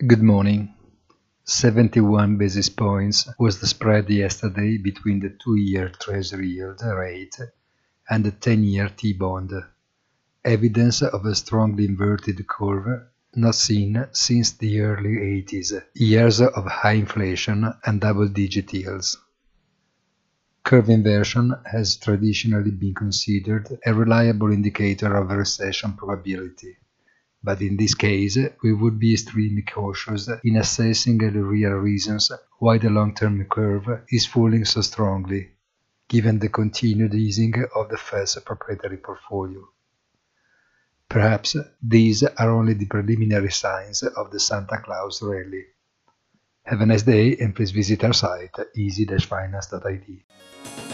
Good morning. 71 basis points was the spread yesterday between the 2-year Treasury yield rate and the 10-year T-bond, evidence of a strongly inverted curve not seen since the early 80s, years of high inflation and double-digit yields. Curve inversion has traditionally been considered a reliable indicator of a recession probability. But in this case, we would be extremely cautious in assessing the real reasons why the long-term curve is falling so strongly, given the continued easing of the Fed's proprietary portfolio. Perhaps these are only the preliminary signs of the Santa Claus rally. Have a nice day and please visit our site easy-finance.it.